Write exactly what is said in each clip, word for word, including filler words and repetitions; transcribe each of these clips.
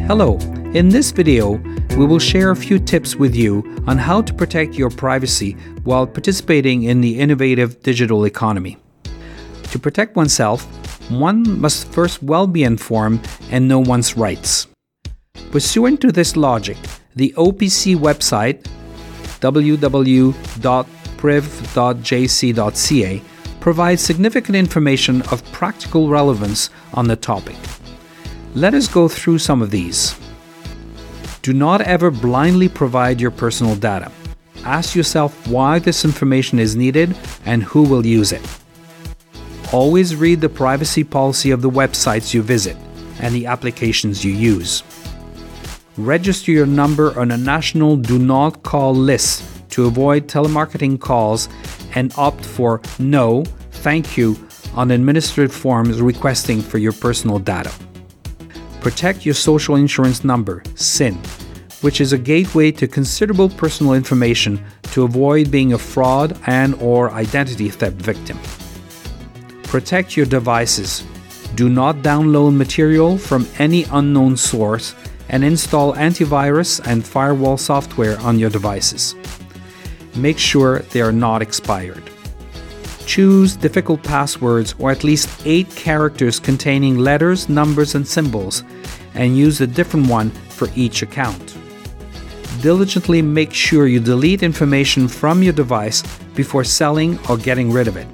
Hello, in this video, we will share a few tips with you on how to protect your privacy while participating in the innovative digital economy. To protect oneself, one must first well be informed and know one's rights. Pursuant to this logic, the O P C website, w w w dot priv dot j c dot c a, provides significant information of practical relevance on the topic. Let us go through some of these. Do not ever blindly provide your personal data. Ask yourself why this information is needed and who will use it. Always read the privacy policy of the websites you visit and the applications you use. Register your number on a national do not call list to avoid telemarketing calls and opt for no, thank you on administrative forms requesting for your personal data. Protect your social insurance number, S I N, which is a gateway to considerable personal information to avoid being a fraud and or identity theft victim. Protect your devices. Do not download material from any unknown source and install antivirus and firewall software on your devices. Make sure they are not expired. Choose difficult passwords or at least eight characters containing letters, numbers, and symbols, and use a different one for each account. Diligently make sure you delete information from your device before selling or getting rid of it.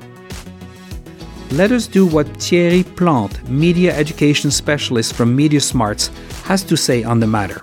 Let us do what Thierry Plante, media education specialist from MediaSmarts, has to say on the matter.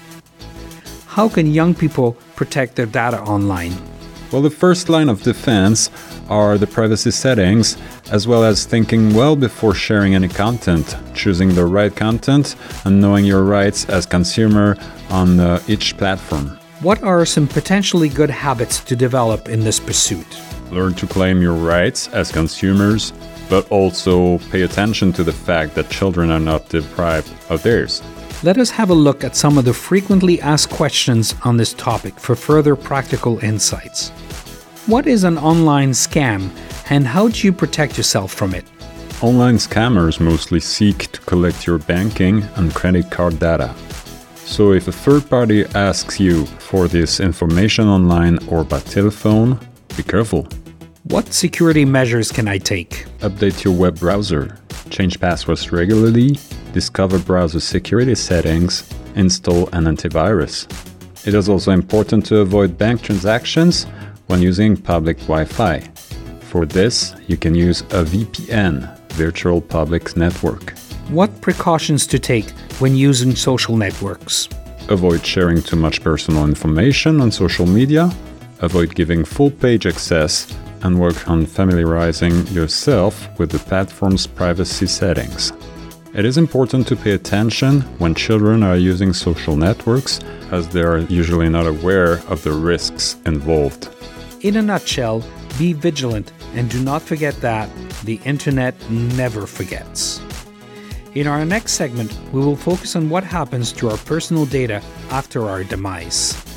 How can young people protect their data online? Well, the first line of defense are the privacy settings, as well as thinking well before sharing any content, choosing the right content, and knowing your rights as consumer on uh, each platform. What are some potentially good habits to develop in this pursuit? Learn to claim your rights as consumers, but also pay attention to the fact that children are not deprived of theirs. Let us have a look at some of the frequently asked questions on this topic for further practical insights. What is an online scam, and how do you protect yourself from it? Online scammers mostly seek to collect your banking and credit card data. So if a third party asks you for this information online or by telephone, be careful. What security measures can I take? Update your web browser, change passwords regularly, discover browser security settings, install an antivirus. It is also important to avoid bank transactions when using public Wi-Fi. For this, you can use a V P N, Virtual Public Network. What precautions to take when using social networks? Avoid sharing too much personal information on social media, avoid giving full page access, and work on familiarizing yourself with the platform's privacy settings. It is important to pay attention when children are using social networks, as they are usually not aware of the risks involved. In a nutshell, be vigilant and do not forget that the internet never forgets. In our next segment, we will focus on what happens to our personal data after our demise.